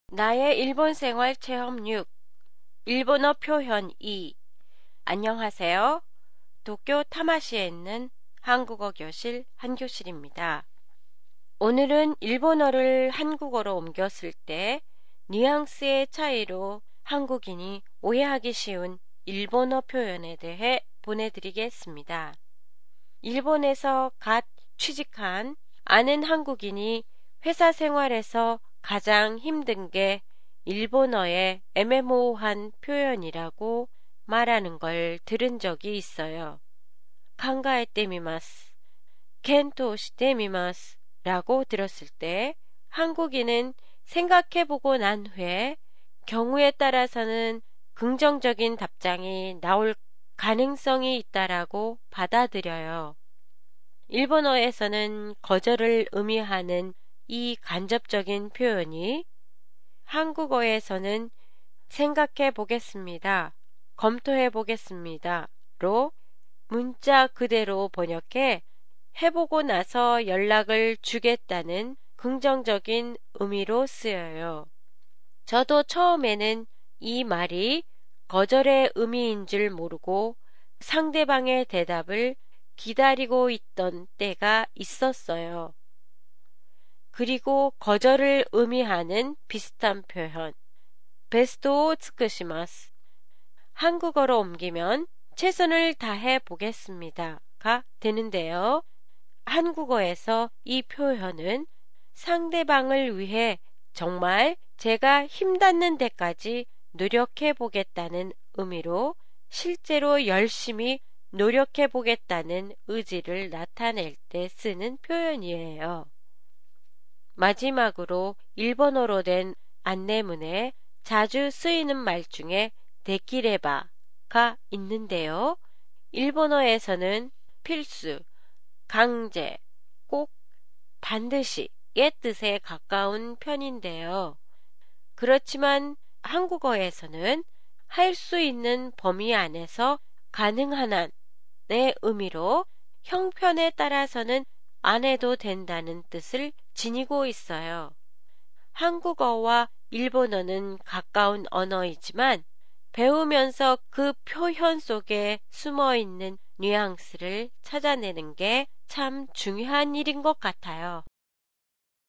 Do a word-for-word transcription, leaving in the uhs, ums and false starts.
나의 일본 생활 체험 육. 일본어 표현 이. 안녕하세요. 도쿄 타마시에 있는 한국어 교실 한교실입니다. 오늘은 일본어를 한국어로 옮겼을 때 뉘앙스의 차이로 한국인이 오해하기 쉬운 일본어 표현에 대해 보내드리겠습니다. 일본에서 갓 취직한 아는 한국인이 회사 생활에서 가장 힘든 게 일본어의 애매모호한 표현이라고 말하는 걸 들은 적이 있어요.考えてみます, 켄토시테미마스 라고 들었을 때 한국인은 생각해보고 난 후에 경우에 따라서는 긍정적인 답장이 나올 가능성이 있다라고 받아들여요. 일본어에서는 거절을 의미하는 이 간접적인 표현이 한국어에서는 생각해 보겠습니다, 검토해 보겠습니다로 문자 그대로 번역해 해보고 나서 연락을 주겠다는 긍정적인 의미로 쓰여요. 저도 처음에는 이 말이 거절의 의미인 줄 모르고 상대방의 대답을 기다리고 있던 때가 있었어요. 그리고 거절을 의미하는 비슷한 표현, 베스토 츠쿠시마스. 한국어로 옮기면 최선을 다해 보겠습니다가 되는데요. 한국어에서 이 표현은 상대방을 위해 정말 제가 힘닿는 데까지 노력해 보겠다는 의미로 실제로 열심히 노력해 보겠다는 의지를 나타낼 때 쓰는 표현이에요. 마지막으로 일본어로 된 안내문에 자주 쓰이는 말 중에 데키레바가 있는데요. 일본어에서는 필수, 강제, 꼭, 반드시의 뜻에 가까운 편인데요. 그렇지만 한국어에서는 할 수 있는 범위 안에서 가능한 한의 의미로 형편에 따라서는 안 해도 된다는 뜻을 지니고 있어요. 한국어와 일본어는 가까운 언어이지만 배우면서 그 표현 속에 숨어 있는 뉘앙스를 찾아내는 게 참 중요한 일인 것 같아요.